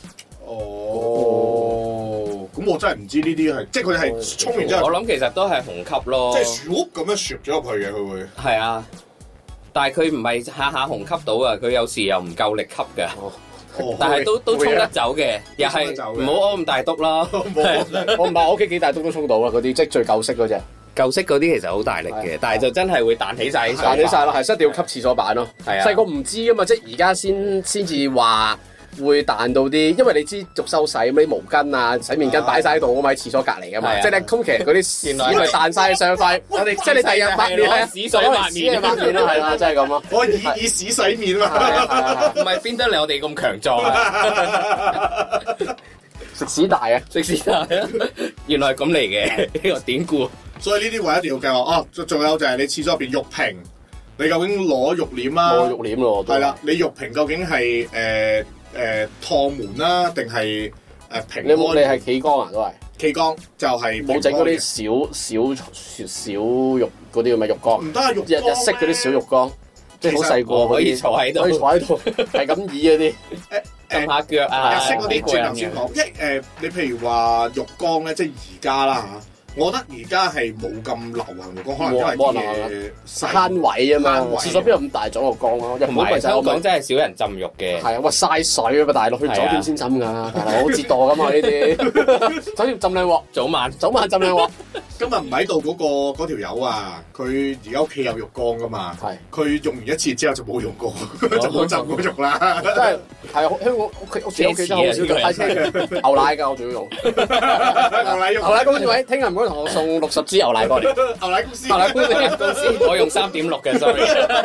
哦，咁我真係唔知呢啲係，即係佢係沖完之後， 我諗其實都係虹吸咯， 即係樹屋咁樣攝咗入去嘅，佢會係啊，但係佢唔係下下虹吸到啊，佢有時又唔夠力吸嘅，哦、但係都都沖得走嘅，又係唔好屙咁大篤啦。 我唔係我屋企幾大篤都沖到啊，嗰啲即係最舊式嗰隻。 舊式嗰啲其實好大力嘅，但係就真係會彈起晒， 彈起晒咯，係，一定要吸廁所板咯。係啊，細個唔知啊嘛，即係而家先先至話。會彈到啲，因為你知續收洗咁啲毛巾啊、洗面巾擺晒喺度，我咪喺廁所隔離噶嘛。即係咧，通其實嗰啲屎咪彈晒上塊，我哋即係你第日抹面係屎水抹面抹面咯，係啦，真係咁咯。 我以以屎洗面嘛， 唔係邊得嚟我哋咁強壯啊？ 食屎大啊！ 食屎大啊！原來係咁嚟嘅呢個典故。 所以呢啲位一定要計劃哦。仲有就係你廁所入邊浴瓶，你究竟攞浴簾啦？ 攞浴簾咯， 係啦，你浴瓶究竟係誒？誒趟門啦，定係誒平安？ 你冇你係企缸啊？都係企缸，就係冇整嗰啲小小小浴嗰啲咁嘅浴缸。 唔得啊！浴日日式嗰啲小浴缸，即係好細個可以坐喺度， 可以坐喺度，係咁椅嗰啲， 撳下腳啊！ 日式嗰啲轉頭先講，因為誒你譬如話浴缸咧，即係而家啦嚇。我覺得而家係冇咁流行浴缸，可能因為啲慳位啊嘛，廁所邊有咁大咗個缸咯？ 同埋香港真係少人浸浴嘅。 係啊，哇嘥水啊嘛！大陸去酒店先浸㗎，大佬好折墮㗎嘛呢啲。酒店浸兩鑊， 早晚早晚浸兩鑊。 今日唔喺度嗰個嗰條友啊，佢而家屋企有浴缸㗎嘛？係。佢用完一次之後就冇用過，就冇浸過浴啦。真係係香港屋企屋企屋企真係好少用太車嘅牛奶㗎，我仲要用牛奶用牛奶公司位，聽日唔該同我送六十支牛奶過嚟。牛奶公司， 牛奶公司公司， 我用三點六嘅，sorry。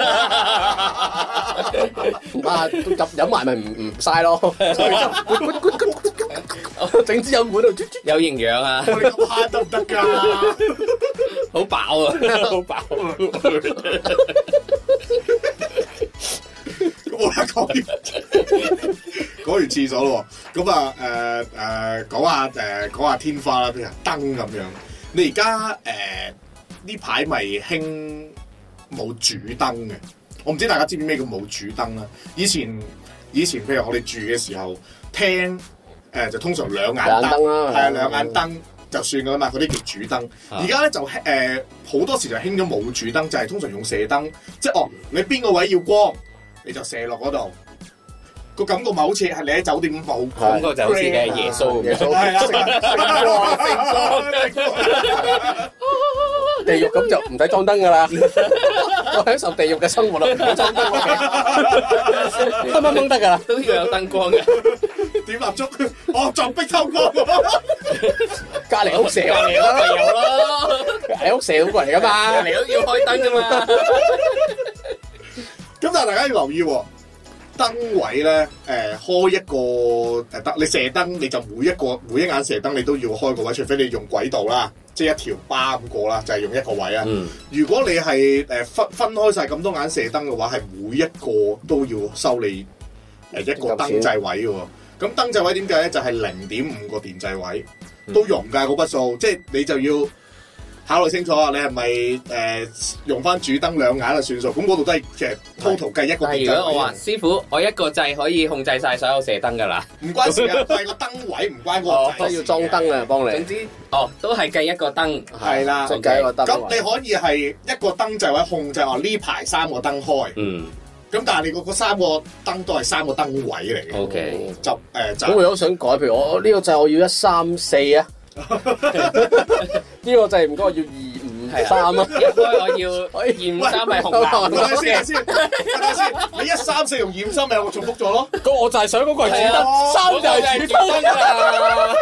啊，飲飲埋咪唔唔嘥咯。整支飲管度， 有營養啊！ 我哋咁慳得唔得㗎？ 好飽啊！好飽。 我咧講完講完廁所咯，咁啊誒誒講下誒講下天花啦，譬如燈咁樣。你而家誒呢排咪興冇主燈嘅？我唔知大家知唔知咩叫冇主燈啦。以前以前譬如我哋住嘅時候，廳誒就通常兩眼燈，係啊兩眼燈就算噶啦嘛，嗰啲叫主燈。而家咧就誒好多時就興咗冇主燈，就係通常用射燈，即係哦你邊個位要光，你就射落嗰度。個感覺咪好似係你喺酒店咁冇， 感覺就好似你係耶穌咁樣， 係啦， 地獄咁就唔使裝燈噶啦，我享受地獄嘅生活啦，唔使裝燈，乜乜乜得噶啦， 都要有燈光嘅， 點蠟燭，哦撞壁偷光， 隔離屋射隔離屋咪有咯， 隔離屋射好過嚟噶嘛， 隔離屋要開燈噶嘛， 咁但係大家要留意喎。燈位咧，誒、呃、開一個誒燈，你射燈你就每一個每一眼射燈你都要開個位，除非你用軌道啦，即係一條巴咁過啦，就係、是、用一個位啊。嗯、如果你係誒分分開晒咁多眼射燈嘅話，係每一個都要收你誒一個燈掣位嘅喎。咁燈掣位點計咧？就係零點五個電掣位都用㗎嗰筆數，即係你就要考慮清楚啊！你係咪誒用翻主燈兩眼就算數？咁嗰度都係其實 total 計一個電掣位。 如果我話師傅，我一個掣可以控制晒所有射燈㗎啦， 唔關事啊，係個燈位唔關個掣。 都要裝燈啊，幫你。 總之，哦，都係計一個燈， 係啦， 就計一個燈。 咁你可以係一個燈掣位控制話呢排三個燈開。嗯。咁但係你嗰三個燈都係三個燈位嚟嘅。 O K。 就誒就。 咁如果想改，譬如我呢個掣我要一三四啊。呢個掣唔該，我要二五三啊！ 一開我要二五三係紅藍。 等下先，先，等下先。你一三四同二五三咪我重複咗咯？ 咁我就係想嗰個係主燈，三就係主燈啊！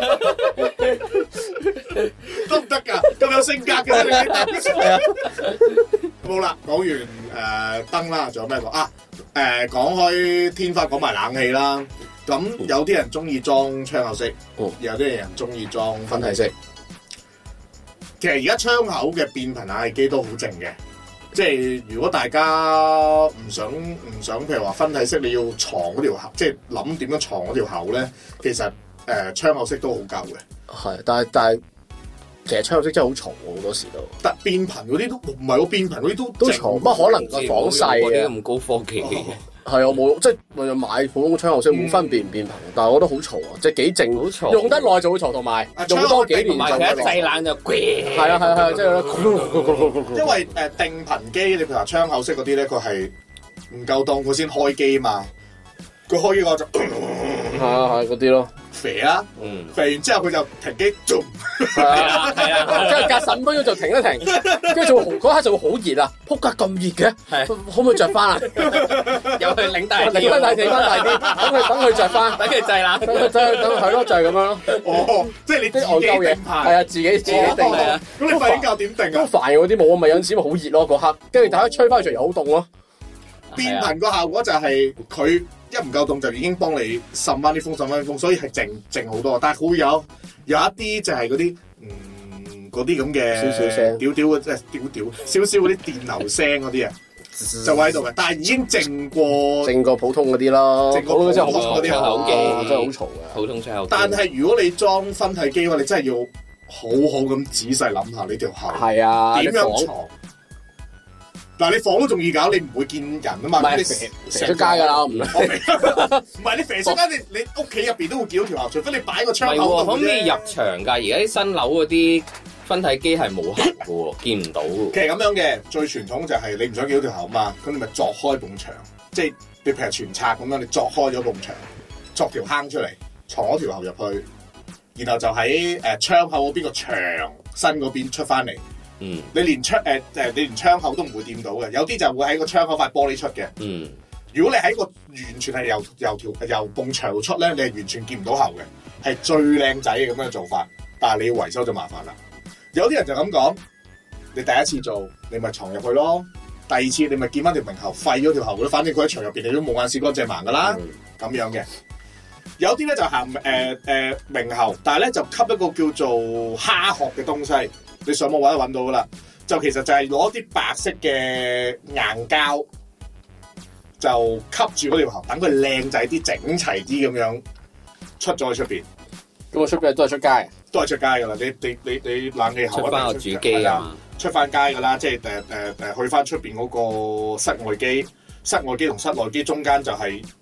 得唔得㗎？咁有性格嘅你。好啦，講完誒燈啦，仲有咩講啊？誒講開天花，講埋冷氣啦。咁有啲人中意裝窗口式，嗯、有啲人中意裝分體式。其實而家窗口嘅變頻冷氣機都好靜嘅，即係如果大家唔想唔想，譬如話分體式你要藏嗰條口，即係諗點樣藏嗰條口咧，其實誒、呃、窗口式都好夠嘅。係，但係但係其實窗口式真係好嘈喎，好多時都。但變頻嗰啲都唔係喎，變頻嗰啲都都嘈，乜可能個房細嘅咁高科技嘅。 係我冇，即係我買普通窗口式冇分辨變頻，但係我覺得好嘈啊，即係幾靜，好嘈，用得耐就會嘈，同埋用多幾年就一製冷就係啊係啊係啊，即係因為誒定頻機，你譬如話窗口式嗰啲咧，佢係唔夠檔佢先開機嘛，佢開機個就係啊係嗰啲咯。 肥啦，嗯，肥完之後佢就停機，做係啊係啊，即係隔十五分鐘就停一停，跟住就會嗰刻就會好熱啊！撲街咁熱嘅，係可唔可以着翻啊？ 又去領大啲， 領翻大啲，翻大啲，等佢等佢着翻， 等佢製冷， 等佢等佢等佢係咯，就係咁樣咯。 哦，即係你啲外交嘢， 係啊，自己自己定啊。 咁你瞓覺點定啊？ 都煩嗰啲冇啊，咪有陣時咪好熱咯嗰刻，跟住大家吹翻出嚟又好凍咯。 變頻個效果就係佢。一唔夠凍就已經幫你滲翻啲風，滲翻啲風，所以係靜靜好多。但係會有有一啲就係嗰啲嗯嗰啲咁嘅少少聲， 屌屌嘅即係屌屌少少嗰啲電流聲嗰啲啊，就喺度嘅。但係已經靜過靜過普通嗰啲咯， 靜過普通嗰啲窗口機真係好嘈嘅。 普通窗口機。但係如果你裝分體機嘅話，你真係要好好咁仔細諗下你條喉係啊點樣藏。嗱，你房都仲易搞，你唔會見人啊嘛， 唔係你射射出街㗎啦，唔唔係你射出街，你你屋企入邊都會見到條喉，除非你擺個窗口度啫。 可唔可以入牆㗎？而家啲新樓嗰啲分體機係冇喉嘅喎，見唔到。 其實咁樣嘅最傳統就係你唔想見到條喉嘛，咁你咪鑿開埲牆，即係你譬如全拆咁樣，你鑿開咗埲牆，鑿條坑出嚟，藏咗條喉入去，然後就喺誒窗口嗰邊個牆身嗰邊出翻嚟。嗯，你連窗誒誒，你連窗口都唔會掂到嘅，有啲就會喺個窗口塊玻璃出嘅。嗯，如果你喺個完全係由由條由埲牆出咧，你係完全見唔到喉嘅，係最靚仔嘅咁樣嘅做法。但係你要維修就麻煩啦。有啲人就咁講，你第一次做，你咪藏入去咯。第二次你咪見翻條明喉廢咗條喉咯，反正佢喺牆入邊，你都冇眼屎乾淨盲噶啦。咁、嗯、樣嘅，有啲咧就行誒誒明喉，但係咧就吸一個叫做蝦殼嘅東西。你上網揾都揾到噶啦，就其實就係攞啲白色嘅硬膠，就吸住嗰條喉，等佢靚仔啲、整齊啲咁樣出咗去出邊。 咁我出邊都係出街， 都係出街噶啦。你你你你冷氣喉出翻個主機啊， 出翻街噶啦，即係誒誒誒去翻出邊嗰個室外機，室外機同室內機中間就係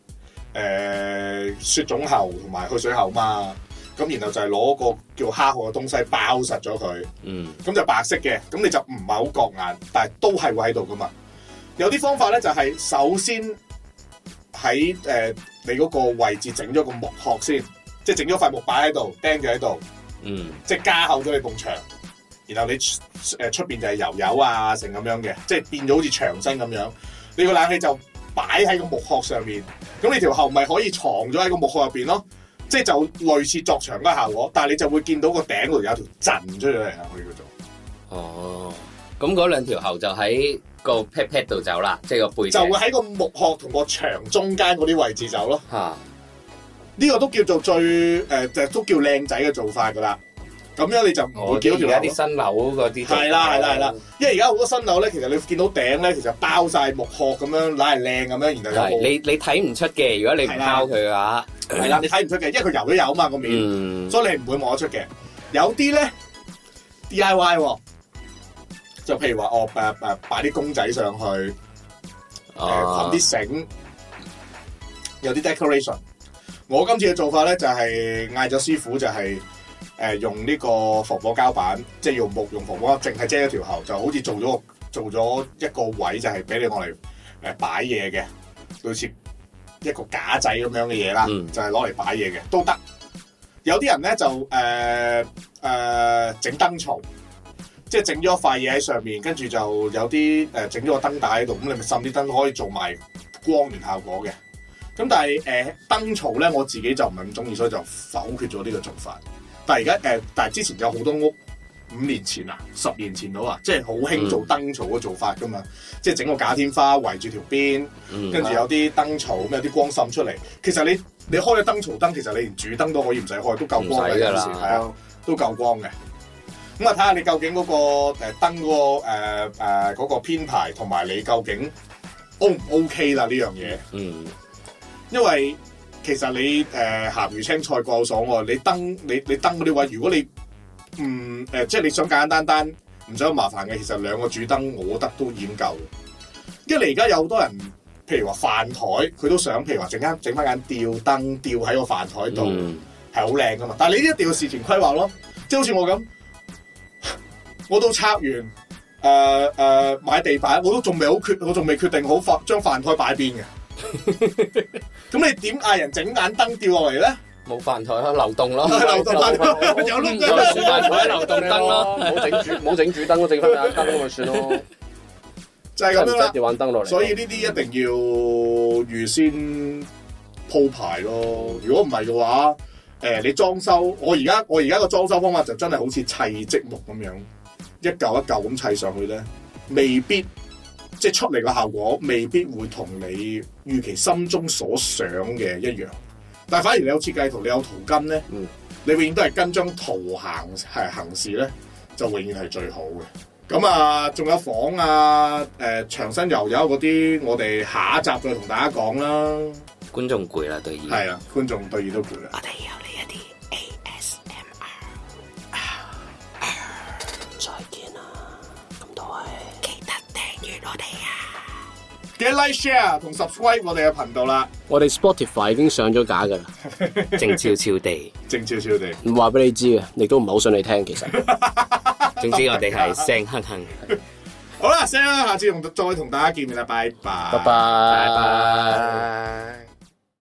誒雪種喉同埋去水喉嘛。咁然後就係攞個叫蝦殼嘅東西包實咗佢，嗯，咁就白色嘅，咁你就唔係好覺眼，但係都係會喺度噶嘛。有啲方法咧就係、是、首先喺誒、呃、你嗰個位置整咗個木殼先，即係整咗塊木擺喺度，釘咗喺度，嗯，即係加厚咗你埲牆，然後你誒出邊就係油油啊成咁樣嘅，即係變咗好似牆身咁樣。你個冷氣就擺喺個木殼上面，咁你條喉咪可以藏咗喺個木殼入邊咯。即係就類似作牆嗰個效果，但係你就會見到個頂嗰度有條震出咗嚟啊！可以叫做哦，咁嗰兩條喉就喺個 pat pat 度走啦，即係個背就會喺個木殼同個牆中間嗰啲位置走咯。嚇、啊，呢個都叫做最誒、呃，都叫靚仔嘅做法噶啦。咁樣你就唔會見到條喉。而家啲新樓嗰啲係啦係啦係啦，因為而家好多新樓咧，其實你見到頂咧，其實包晒木殼咁樣，揦係靚咁樣，然後有你你睇唔出嘅，如果你唔拋佢嘅話。 係啦，你睇唔出嘅，因為佢油都有嘛個面，嗯、所以你唔會望得出嘅。有啲咧 D I Y， 就譬如話哦誒誒擺啲公仔上去，誒捆啲繩，有啲 decoration。我今次嘅做法咧就係嗌咗師傅就係、是、誒、呃、用呢個防火膠板，即係用木用防火膠，淨係遮一條喉，就好似做咗做咗一個位，就係俾你攞嚟誒擺嘢嘅，類似。一個架仔咁樣嘅嘢啦，嗯、就係攞嚟擺嘢嘅都得。有啲人咧就誒誒整燈槽，即係整咗一塊嘢喺上面，跟住就有啲誒整咗個燈帶喺度，咁你咪滲啲燈可以做埋光源效果嘅。咁但係誒、呃、燈槽咧，我自己就唔係咁中意，所以就否決咗呢個做法。但係而家誒，但係之前有好多屋。五年前啊，十年前到啊，即係好興做燈槽嘅做法噶嘛，嗯、即係整個假天花圍住條邊，跟住、嗯、有啲燈槽咁有啲光滲出嚟。其實你你開咗燈槽燈，其實你連主燈都可以唔使開，都夠光嘅有時，係啊，都夠光嘅。咁啊，睇下你究竟嗰個誒燈嗰個誒誒嗰個編排同埋你究竟 O 唔 OK 啦呢樣嘢。嗯，因為其實你誒鹹魚青菜各有所愛，你燈你你燈嗰啲位，如果你嗯誒、呃，即係你想簡簡單單，唔想咁麻煩嘅，其實兩個主燈，我覺得都已經夠。因為你而家有好多人，譬如話飯台，佢都想，譬如話整間整翻間吊燈吊喺個飯台度，係好靚噶嘛。但係你呢一定要事前規劃咯，即係好似我咁，我都拆完，誒、呃、誒、呃、買地板，我都仲未好決，我仲未決定好飯將飯台擺邊嘅。咁你點嗌人整眼燈吊落嚟咧？ 冇飯台咯，流動咯， 流動飯台有碌嘅飯台流動燈咯， 冇整主冇整主燈咯，整翻眼燈咁咪算咯， 就係咁樣啦。 要玩燈落嚟， 所以呢啲一定要預先鋪排咯。如果唔係嘅話，誒、呃、你裝修，我而家我而家個裝修方法就真係好似砌積木咁樣，一嚿一嚿咁砌上去咧，未必即係出嚟嘅效果未必會同你預期心中所想嘅一樣。但係反而你有設計圖，你有圖根咧，嗯、你永遠都係跟張圖行係行事咧，就永遠係最好嘅。咁啊，仲有房啊，誒、呃、牆身油油嗰啲，我哋下一集再同大家講啦。 觀眾攰啦，對耳係啊，觀眾對耳都攰啦。 我哋有呢一啲 A S M R，再見啦，咁多位記得訂閱我哋啊！ 記得 like share 同 subscribe 我哋嘅頻道啦。 我哋 Spotify 已經上咗架噶啦， 靜悄悄地， 靜悄悄地， 唔話俾你知嘅，亦都唔係好想你聽。其實， 總之我哋係聲哼哼。 好啦，聲哼，下次同再同大家見面啦，拜拜， 拜拜，拜拜。